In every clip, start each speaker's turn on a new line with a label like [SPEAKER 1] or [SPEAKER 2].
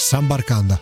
[SPEAKER 1] Sambarcanda.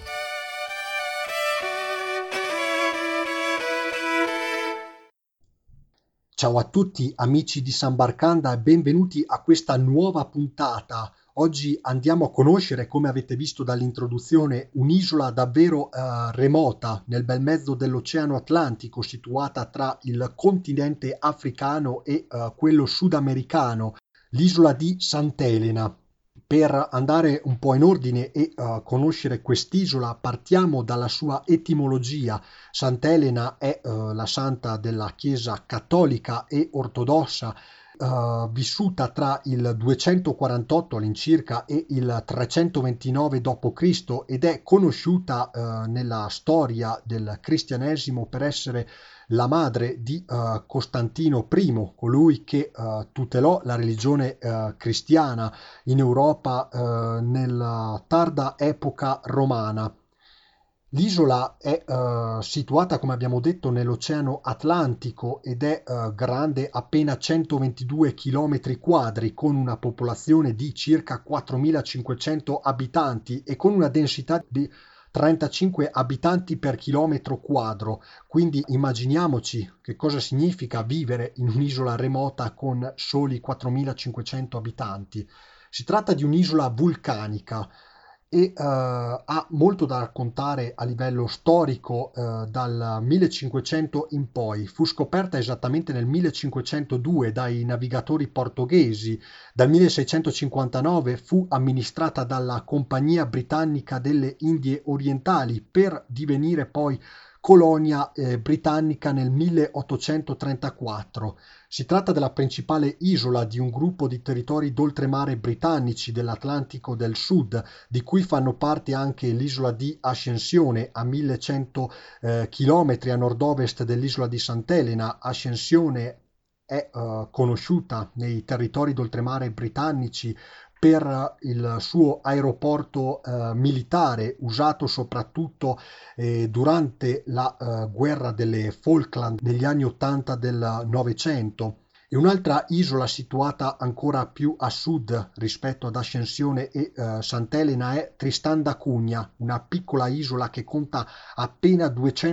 [SPEAKER 2] Ciao a tutti amici di Sambarcanda e benvenuti a questa nuova puntata. Oggi andiamo a conoscere, come avete visto dall'introduzione, un'isola davvero remota nel bel mezzo dell'Oceano Atlantico, situata tra il continente africano e quello sudamericano, l'isola di Sant'Elena. Per andare un po' in ordine e conoscere quest'isola, partiamo dalla sua etimologia. Sant'Elena è la santa della Chiesa cattolica e ortodossa, vissuta tra il 248 all'incirca e il 329 d.C. ed è conosciuta nella storia del cristianesimo per essere la madre di Costantino I, colui che tutelò la religione cristiana in Europa nella tarda epoca romana. L'isola è situata, come abbiamo detto, nell'Oceano Atlantico ed è grande appena 122 km quadri, con una popolazione di circa 4.500 abitanti e con una densità di 35 abitanti per chilometro quadro. Quindi immaginiamoci che cosa significa vivere in un'isola remota con soli 4.500 abitanti. Si tratta di un'isola vulcanica e ha molto da raccontare a livello storico dal 1500 in poi. Fu scoperta esattamente nel 1502 dai navigatori portoghesi. Dal 1659 fu amministrata dalla Compagnia Britannica delle Indie Orientali per divenire poi colonia britannica nel 1834. Si tratta della principale isola di un gruppo di territori d'oltremare britannici dell'Atlantico del Sud, di cui fanno parte anche l'isola di Ascensione a 1100 km a nord-ovest dell'isola di Sant'Elena. Ascensione è conosciuta nei territori d'oltremare britannici per il suo aeroporto militare, usato soprattutto durante la guerra delle Falkland negli anni 80 del Novecento. E un'altra isola situata ancora più a sud rispetto ad Ascensione e Sant'Elena è Tristan da Cunha, una piccola isola che conta appena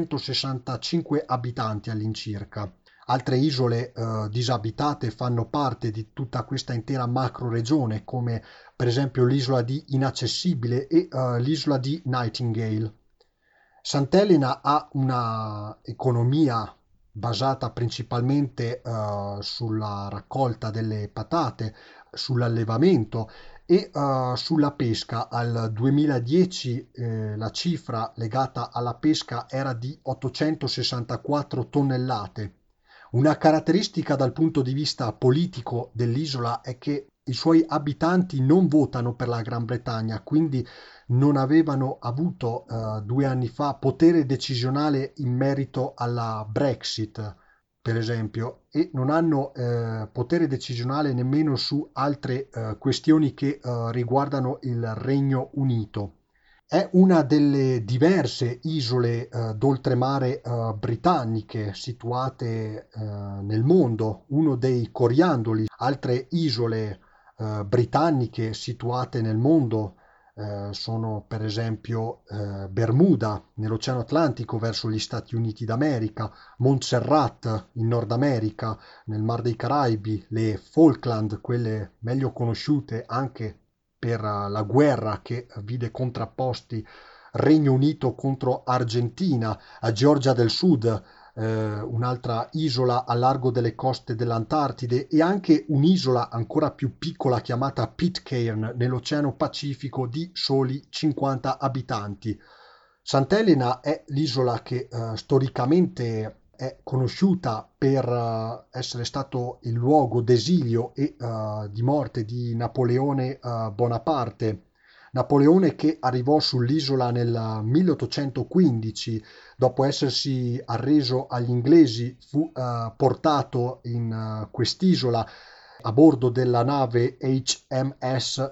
[SPEAKER 2] 265 abitanti all'incirca. Altre isole disabitate fanno parte di tutta questa intera macroregione, come per esempio l'isola di Inaccessibile e l'isola di Nightingale. Sant'Elena ha una economia basata principalmente sulla raccolta delle patate, sull'allevamento e sulla pesca. Al 2010 la cifra legata alla pesca era di 864 tonnellate. Una caratteristica dal punto di vista politico dell'isola è che i suoi abitanti non votano per la Gran Bretagna, quindi non avevano avuto 2 anni fa potere decisionale in merito alla Brexit, per esempio, e non hanno potere decisionale nemmeno su altre questioni che riguardano il Regno Unito. È una delle diverse isole d'oltremare britanniche situate nel mondo, uno dei coriandoli. Altre isole britanniche situate nel mondo sono per esempio Bermuda nell'Oceano Atlantico verso gli Stati Uniti d'America, Montserrat in Nord America, nel Mar dei Caraibi, le Falkland, quelle meglio conosciute anche per la guerra che vide contrapposti Regno Unito contro Argentina, a Georgia del Sud, un'altra isola a largo delle coste dell'Antartide e anche un'isola ancora più piccola chiamata Pitcairn nell'Oceano Pacifico di soli 50 abitanti. Sant'Elena è l'isola che storicamente è conosciuta per essere stato il luogo d'esilio e di morte di Napoleone Bonaparte. Napoleone che arrivò sull'isola nel 1815, dopo essersi arreso agli inglesi, fu portato in quest'isola a bordo della nave HMS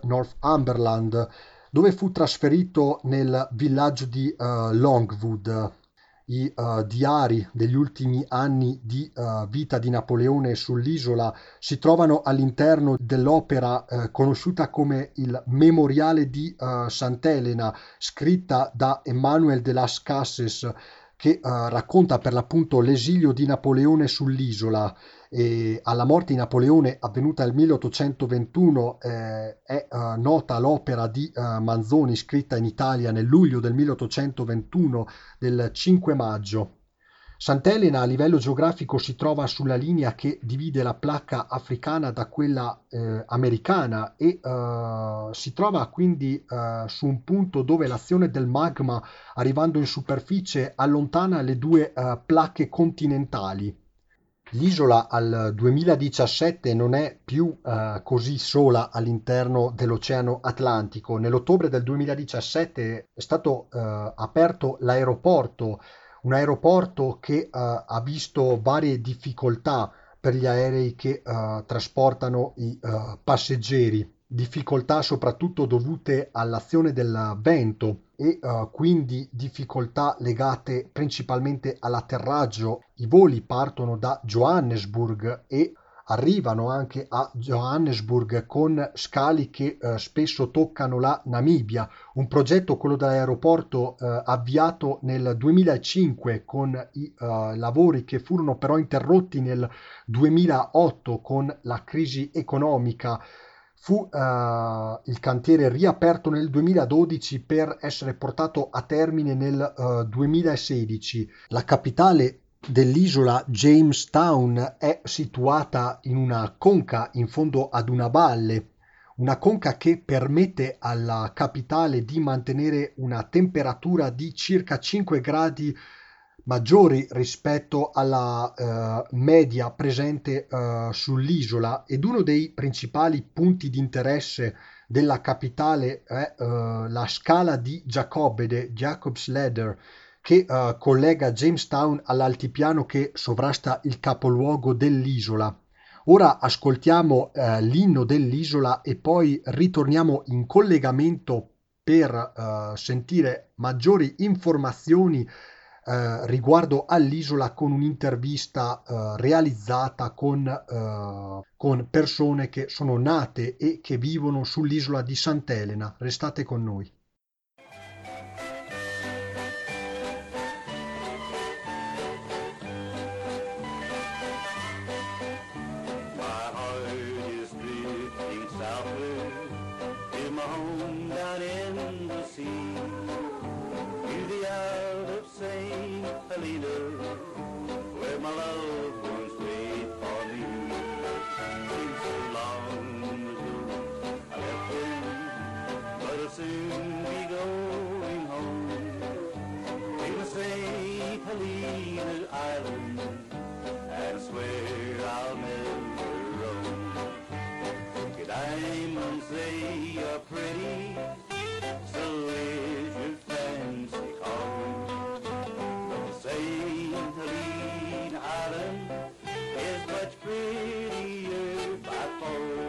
[SPEAKER 2] Northumberland, dove fu trasferito nel villaggio di Longwood. i diari degli ultimi anni di vita di Napoleone sull'isola si trovano all'interno dell'opera conosciuta come il Memoriale di Sant'Elena, scritta da Emmanuel de las Cases, che racconta per l'appunto l'esilio di Napoleone sull'isola. E alla morte di Napoleone avvenuta nel 1821 è nota l'opera di Manzoni scritta in Italia nel luglio del 1821 del 5 maggio. Sant'Elena a livello geografico si trova sulla linea che divide la placca africana da quella americana e si trova quindi su un punto dove l'azione del magma arrivando in superficie allontana le due placche continentali. L'isola al 2017 non è più così sola all'interno dell'Oceano Atlantico. Nell'ottobre del 2017 è stato aperto l'aeroporto, un aeroporto che ha visto varie difficoltà per gli aerei che trasportano i passeggeri, difficoltà soprattutto dovute all'azione del vento e quindi difficoltà legate principalmente all'atterraggio. I voli partono da Johannesburg e arrivano anche a Johannesburg con scali che spesso toccano la Namibia, un progetto, quello dell'aeroporto, avviato nel 2005 con i lavori che furono però interrotti nel 2008 con la crisi economica. Fu il cantiere riaperto nel 2012 per essere portato a termine nel 2016. La capitale dell'isola, Jamestown, è situata in una conca in fondo ad una conca che permette alla capitale di mantenere una temperatura di circa 5 gradi maggiori rispetto alla media presente sull'isola, ed uno dei principali punti di interesse della capitale è la scala di Giacobbe, Jacob's Ladder, che collega Jamestown all'altipiano che sovrasta il capoluogo dell'isola. Ora ascoltiamo l'inno dell'isola e poi ritorniamo in collegamento per sentire maggiori informazioni riguardo all'isola con un'intervista realizzata con persone che sono nate e che vivono sull'isola di Sant'Elena. Restate con noi.
[SPEAKER 1] Where my loved ones wait for me. Seems so long ago I left them, but I'll soon be going home to St. Helena Island, and I swear I'll never roam. Your diamonds, they are pretty, so is your fancy car. St. Helena Island is much prettier by far.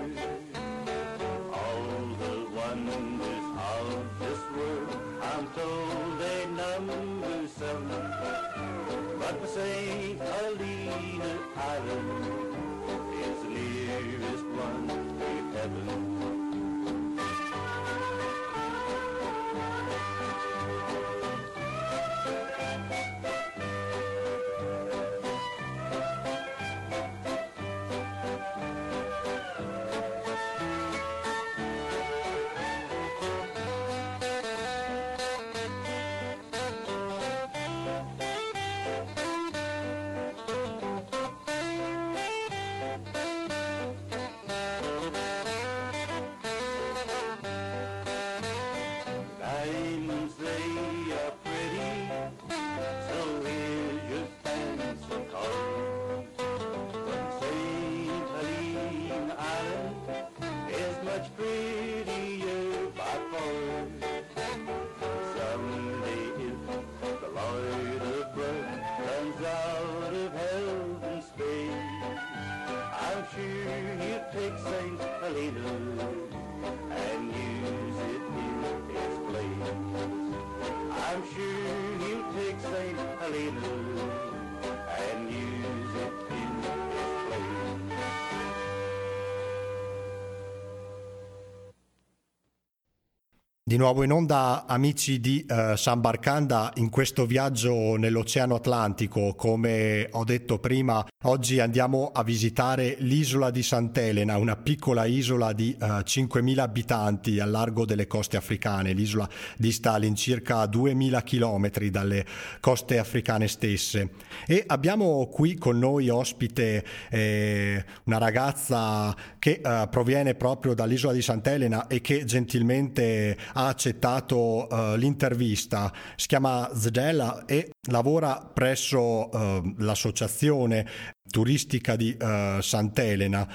[SPEAKER 1] All the wonders of this world, I'm told they number 7, but the St. Helena Island is the nearest one to heaven. cleaner and use it in its place.
[SPEAKER 2] Di nuovo in onda, amici di Sambarcanda, in questo viaggio nell'Oceano Atlantico. Come ho detto prima, oggi andiamo a visitare l'isola di Sant'Elena, una piccola isola di 5.000 abitanti al largo delle coste africane. L'isola dista all'incirca 2.000 chilometri dalle coste africane stesse. E abbiamo qui con noi ospite una ragazza che proviene proprio dall'isola di Sant'Elena e che gentilmente ha accettato l'intervista. Si chiama Zdela e lavora presso l'associazione turistica di Sant'Elena,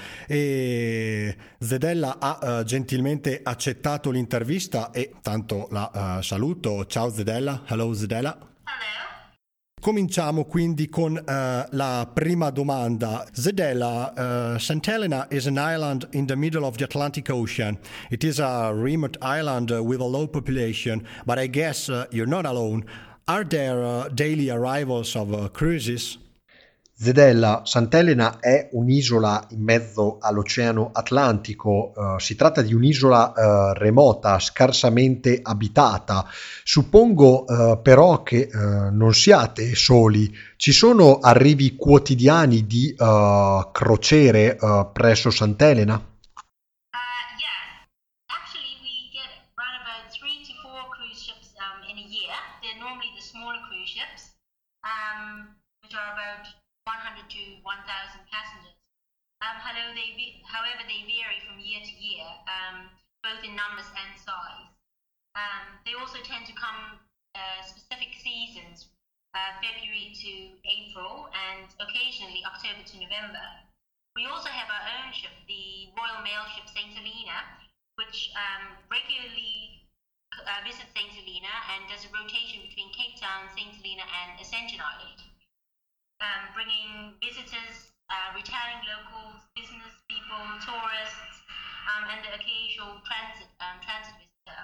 [SPEAKER 2] e Zdela ha gentilmente accettato l'intervista e tanto la saluto. Ciao Zdela. Hello Zdela.
[SPEAKER 3] Hello.
[SPEAKER 2] Cominciamo quindi con la prima domanda. Zdela, Sant'Elena is an island in the middle of the Atlantic Ocean. It is a remote island with a low population, but I guess you're not alone. Are there daily arrivals of cruises?
[SPEAKER 4] Zdela, Sant'Elena è un'isola in mezzo all'Oceano Atlantico, si tratta di un'isola remota, scarsamente abitata. Suppongo però che non siate soli. Ci sono arrivi quotidiani di crociere presso Sant'Elena?
[SPEAKER 3] Yeah. Actually, we get around about 3 to 4 cruise ships in a year. They're normally the smaller cruise ships, which are about 100 to 1,000 passengers. However, they vary from year to year, both in numbers and size. They also tend to come specific seasons, February to April, and occasionally October to November. We also have our own ship, the Royal Mail ship St. Helena, which regularly visits St. Helena and does a rotation between Cape Town, St. Helena, and Ascension Island. Bringing visitors, returning locals, business people, tourists, and the occasional transit visitor.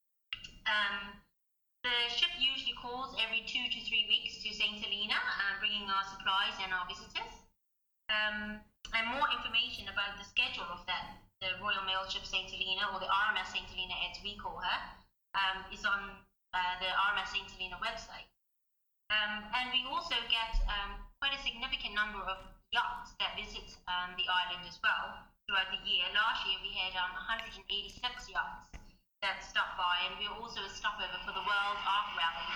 [SPEAKER 3] The ship usually calls every 2 to 3 weeks to St. Helena, bringing our supplies and our visitors. And more information about the schedule of the Royal Mail ship St. Helena, or the RMS St. Helena as we call her, is on the RMS St. Helena website. And we also get quite a significant number of yachts that visit the island as well throughout the year. Last year we had 186 yachts that stopped by, and we're also a stopover for the World Ark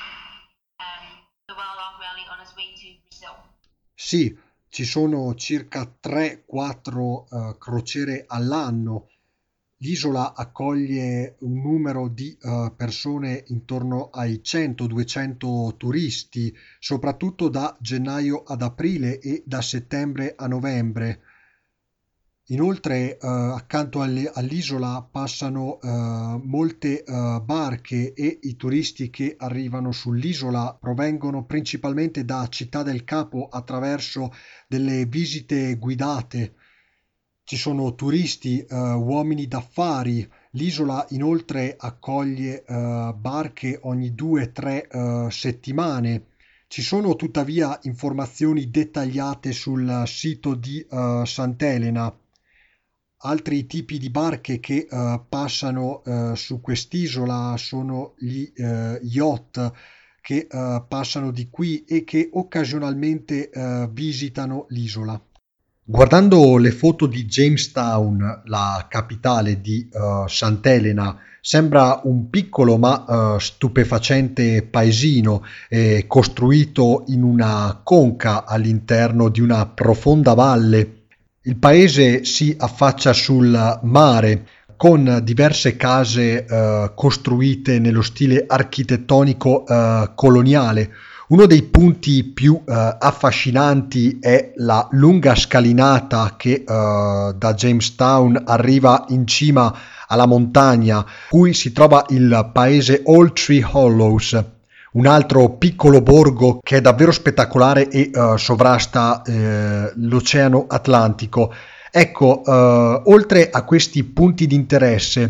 [SPEAKER 3] Rally on its way to Brazil.
[SPEAKER 2] Sì, ci sono circa 3-4 crociere all'anno. L'isola accoglie un numero di persone intorno ai 100-200 turisti, soprattutto da gennaio ad aprile e da settembre a novembre. Inoltre, accanto all'isola passano molte barche, e i turisti che arrivano sull'isola provengono principalmente da Città del Capo attraverso delle visite guidate. Ci sono turisti, uomini d'affari. L'isola inoltre accoglie barche ogni 2-3 settimane. Ci sono tuttavia informazioni dettagliate sul sito di Sant'Elena. Altri tipi di barche che passano su quest'isola sono gli yacht che passano di qui e che occasionalmente visitano l'isola. Guardando le foto di Jamestown, la capitale di Sant'Elena, sembra un piccolo ma stupefacente paesino costruito in una conca all'interno di una profonda valle. Il paese si affaccia sul mare con diverse case costruite nello stile architettonico coloniale. Uno dei punti più affascinanti è la lunga scalinata che da Jamestown arriva in cima alla montagna, cui si trova il paese Old Tree Hollows, un altro piccolo borgo che è davvero spettacolare e sovrasta l'Oceano Atlantico. Ecco, oltre a questi punti di interesse,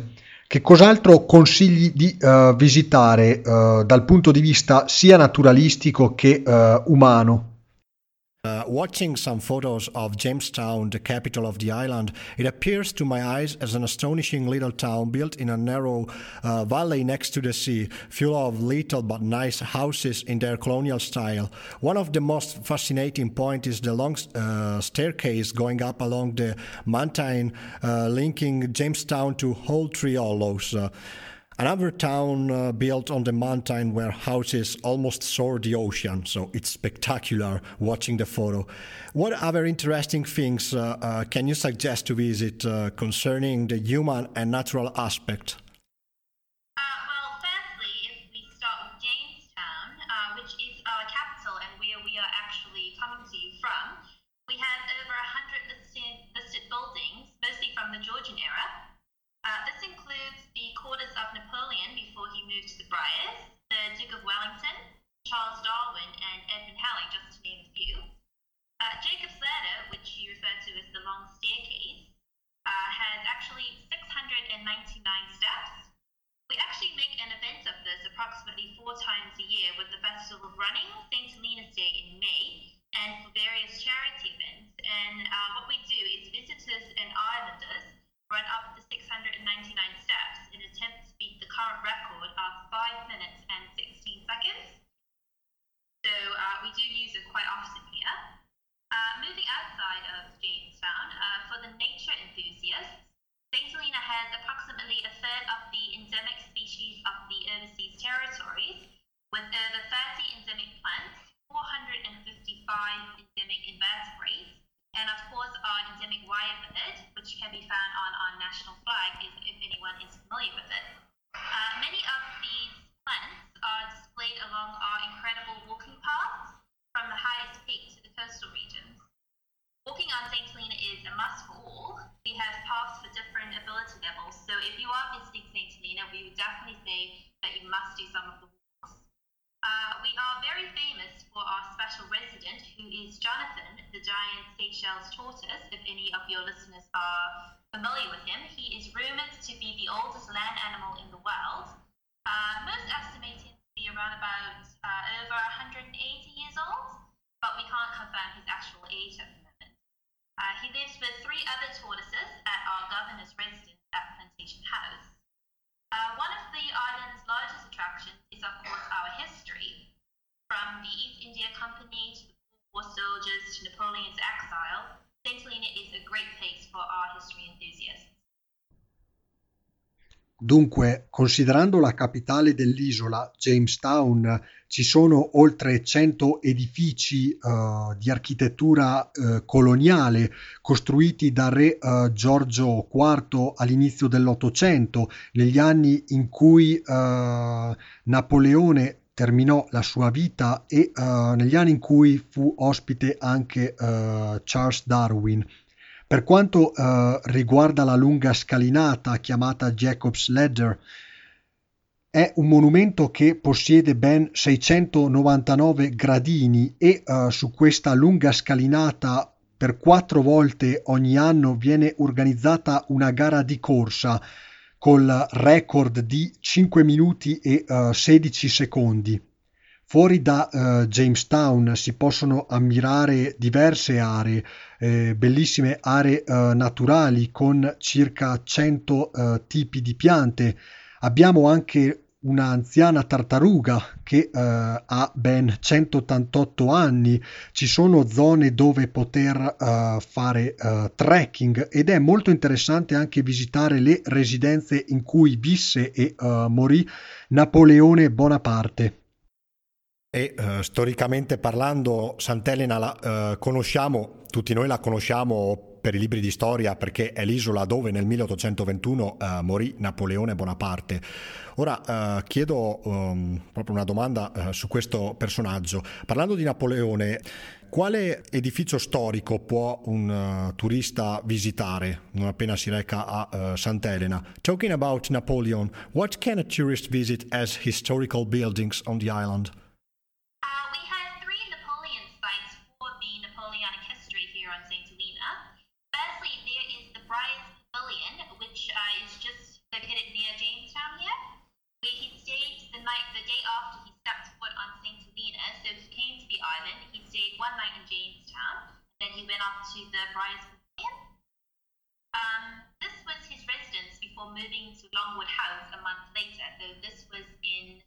[SPEAKER 4] Che cos'altro consigli di visitare dal punto di vista sia naturalistico che umano?
[SPEAKER 5] Watching some photos of Jamestown, the capital of the island, it appears to my eyes as an astonishing little town built in a narrow valley next to the sea, full of little but nice houses in their colonial style. One of the most fascinating points is the long staircase going up along the mountain, linking Jamestown to Old Tree Hollows. Another town built on the mountain where houses almost soar the ocean, so it's spectacular watching the photo. What other interesting things can you suggest to visit concerning the human and natural aspect?
[SPEAKER 3] Well, firstly, if we start with Jamestown, which is our capital and where we are actually coming to you from, we have over 100 listed buildings, mostly from the Georgian era. This includes the quarters of Napoleon before he moved to the Briars, the Duke of Wellington, Charles Darwin, and Edmund Halley, just to name a few. Jacob's Ladder, which you refer to as the long staircase, has actually 699 steps. We actually make an event of this approximately 4 times a year with the Festival of Running, St. Helena's Day in May, and for various charity events. And what we do is visitors and islanders run up the 699 steps in an attempt to beat the current record of 5 minutes and 16 seconds. So we do use it quite often here. Moving outside of Jamestown, for the nature enthusiasts, St. Helena has approximately a third of the endemic species of the overseas territories, with over 30 endemic plants, 455 endemic invertebrates, and of course our endemic wirebird, which can be found on our national flag if anyone is familiar with it. Many of these plants are displayed along our incredible walking paths from the highest peak to the coastal regions. Walking on St. Helena is a must for all. We have paths for different ability levels, so if you are visiting St. Helena, we would definitely say that you must do some of the walks. We are very famous for our special resident, who is Jonathan, the giant Seychelles tortoise, if any of your listeners are familiar with him. He is rumored to be the oldest land animal in the world. Most estimate him to be around about over 180 years old, but we can't confirm his actual age at the moment. He lives with 3 other tortoises at our governor's residence at Plantation House. One of the island's largest attractions is, of course, our history. From the East India Company to the Boer soldiers to Napoleon's exile, St. Helena is a great place for our history enthusiasts.
[SPEAKER 2] Dunque, considerando la capitale dell'isola, Jamestown, ci sono oltre 100 edifici di architettura coloniale costruiti dal re Giorgio IV all'inizio dell'Ottocento, negli anni in cui Napoleone terminò la sua vita e negli anni in cui fu ospite anche Charles Darwin. Per quanto riguarda la lunga scalinata chiamata Jacob's Ladder, è un monumento che possiede ben 699 gradini e su questa lunga scalinata per 4 volte ogni anno viene organizzata una gara di corsa col record di 5 minuti e 16 secondi. Fuori da Jamestown si possono ammirare diverse aree, bellissime aree naturali con circa 100 tipi di piante. Abbiamo anche un'anziana tartaruga che ha ben 188 anni. Ci sono zone dove poter fare trekking ed è molto interessante anche visitare le residenze in cui visse e morì Napoleone Bonaparte.
[SPEAKER 5] E storicamente parlando, Sant'Elena la conosciamo, tutti noi la conosciamo per i libri di storia perché è l'isola dove nel 1821 morì Napoleone Bonaparte. Ora chiedo proprio una domanda su questo personaggio. Parlando di Napoleone, quale edificio storico può un turista visitare non appena si reca a Sant'Elena? Talking about Napoleon, what can a tourist visit as historical buildings on the island?
[SPEAKER 3] We have 3 Napoleon sites for the Napoleonic history here on St. Helena. Firstly, there is the Briars Pavilion, which is just located near then up to the Briars Museum. This was his residence before moving to Longwood House a month later. So this was in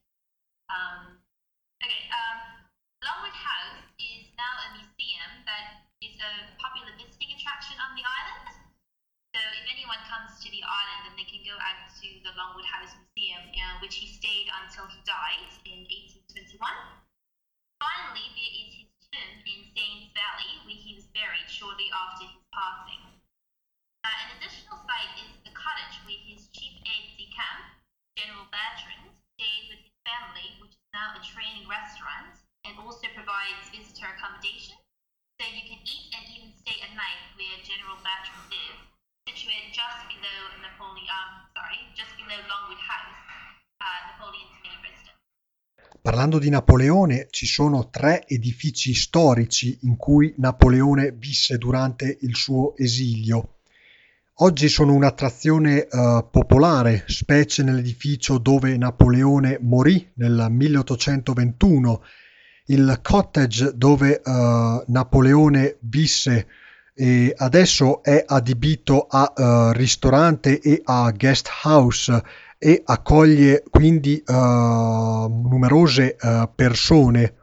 [SPEAKER 3] Longwood House is now a museum that is a popular visiting attraction on the island. So if anyone comes to the island, then they can go out to the Longwood House Museum, which he stayed until he died in 1821. Finally, there is his tomb in Staines Valley, where he was buried shortly after his passing. An additional site is the cottage where his chief aide-de-camp, General Bertrand, stayed with his family, which is now a training restaurant, and also provides visitor accommodation. So you can eat and even stay at night where General Bertrand lives, situated just below Longwood House, Napoleon's main residence.
[SPEAKER 2] Parlando di Napoleone, ci sono 3 edifici storici in cui Napoleone visse durante il suo esilio. Oggi sono un'attrazione popolare, specie nell'edificio dove Napoleone morì nel 1821, il cottage dove Napoleone visse e adesso è adibito a ristorante e a guest house e accoglie quindi numerose persone.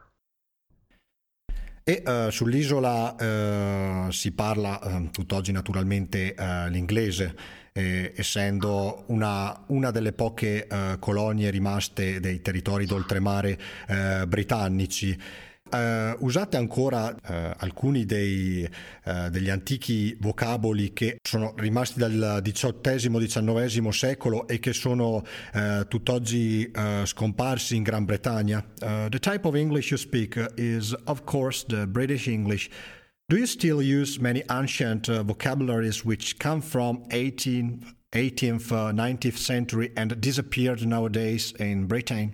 [SPEAKER 5] E sull'isola si parla tutt'oggi naturalmente l'inglese, essendo una delle poche colonie rimaste dei territori d'oltremare britannici. Usate ancora alcuni degli antichi vocaboli che sono rimasti dal XVIII-XIX secolo e che sono tutt'oggi scomparsi in Gran Bretagna. The type of English you speak is, of course, the British English. Do you still use many ancient vocabularies which come from 18th, 19th century and disappeared nowadays in Britain?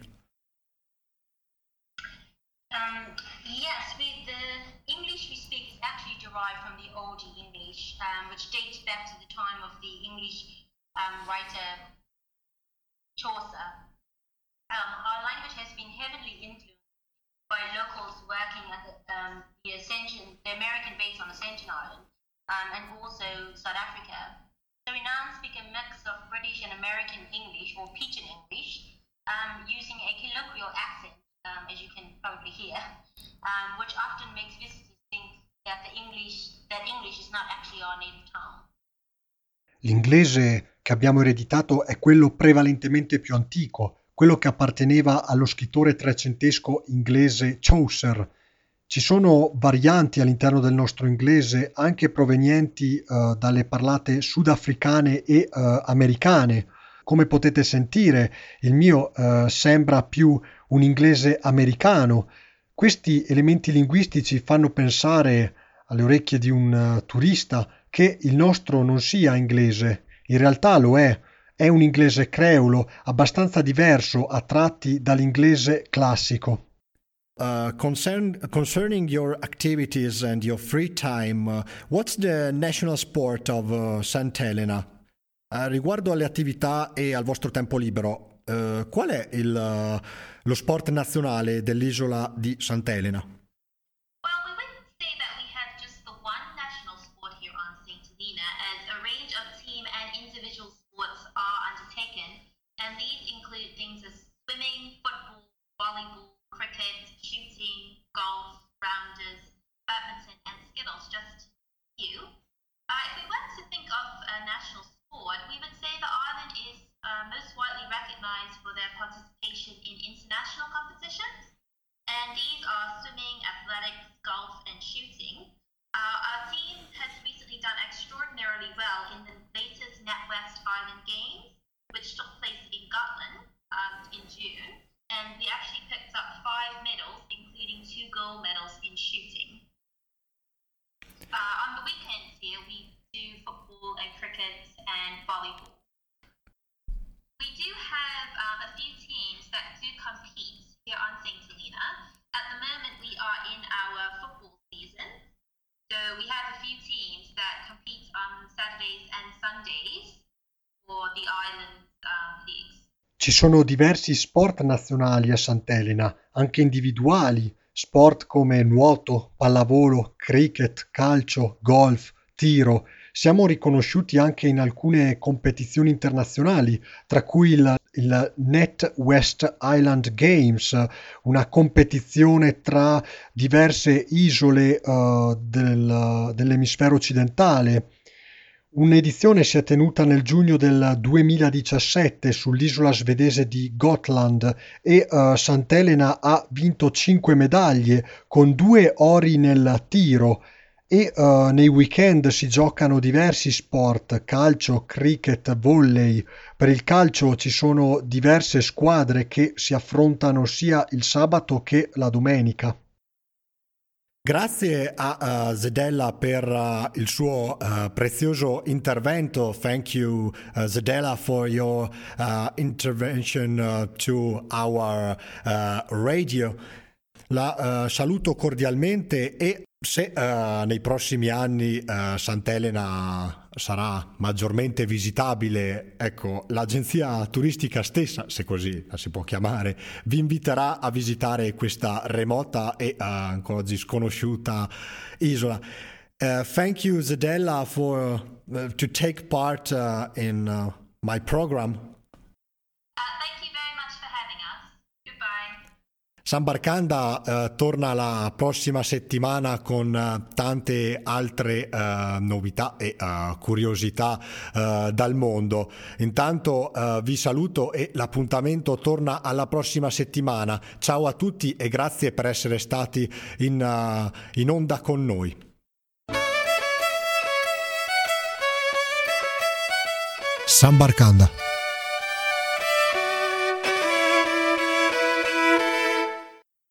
[SPEAKER 3] Which dates back to the time of the English writer Chaucer. Our language has been heavily influenced by locals working at the American base on Ascension Island, and also South Africa. So we now speak a mix of British and American English, or Pidgin English, using a colloquial accent, as you can probably hear, which often makes visitors think that English is not actually our native tongue.
[SPEAKER 2] L'inglese che abbiamo ereditato è quello prevalentemente più antico, quello che apparteneva allo scrittore trecentesco inglese Chaucer. Ci sono varianti all'interno del nostro inglese anche provenienti dalle parlate sudafricane e americane. Come potete sentire, il mio sembra più un inglese americano. Questi elementi linguistici fanno pensare alle orecchie di un turista che il nostro non sia inglese. In realtà lo è un inglese creulo, abbastanza diverso a tratti dall'inglese classico.
[SPEAKER 5] Concerning your activities and your free time, what's the national sport of St. Helena? Riguardo alle attività e al vostro tempo libero, qual è lo sport nazionale dell'isola di Sant'Elena?
[SPEAKER 3] Well, we wouldn't say that we have just the one national sport here on St. Helena, as a range of team and individual sports are undertaken, and these include things as swimming, football, volleyball, cricket, shooting, golf, rounders, badminton, and skittles, just a few. If we were to think of a national sport, we would say the island is most widely recognized for their participation in international competitions, and these are swimming, athletics, golf, and shooting. Our team has recently done extraordinarily well in the latest NatWest Island Games, which took place in Gotland in June, and we actually picked up 5 medals, including 2 gold medals in shooting. On the weekends here, we do football and cricket and volleyball. We do have a few teams that do compete here on St. Helena. At the moment, we are in our football season. So we have a few teams that compete on Saturdays and Sundays for the island leagues.
[SPEAKER 2] Ci sono diversi sport nazionali a Sant'Elena, anche individuali,
[SPEAKER 4] sport come nuoto, pallavolo, cricket, calcio, golf, tiro. Siamo riconosciuti anche in alcune competizioni internazionali, tra cui il Net West Island Games, una competizione tra diverse isole dell'emisfero occidentale. Un'edizione si è tenuta nel giugno del 2017 sull'isola svedese di Gotland e Sant'Elena ha vinto 5 medaglie con 2 ori nel tiro e nei weekend si giocano diversi sport, calcio, cricket, volley. Per il calcio ci sono diverse squadre che si affrontano sia il sabato che la domenica.
[SPEAKER 5] Grazie a Zedella per il suo prezioso intervento. Thank you, Zedella, for your intervention to our radio. La saluto cordialmente e se nei prossimi anni Sant'Elena sarà maggiormente visitabile, ecco, l'agenzia turistica stessa, se così la si può chiamare, vi inviterà a visitare questa remota e ancora oggi sconosciuta isola. Thank you, Zedella, for to take part in my program.
[SPEAKER 3] Thank you very much for having us. Goodbye.
[SPEAKER 5] Sambarkanda torna la prossima settimana con tante altre novità e curiosità dal mondo. Intanto vi saluto e l'appuntamento torna alla prossima settimana. Ciao a tutti e grazie per essere stati in onda con noi.
[SPEAKER 2] Sambarkanda.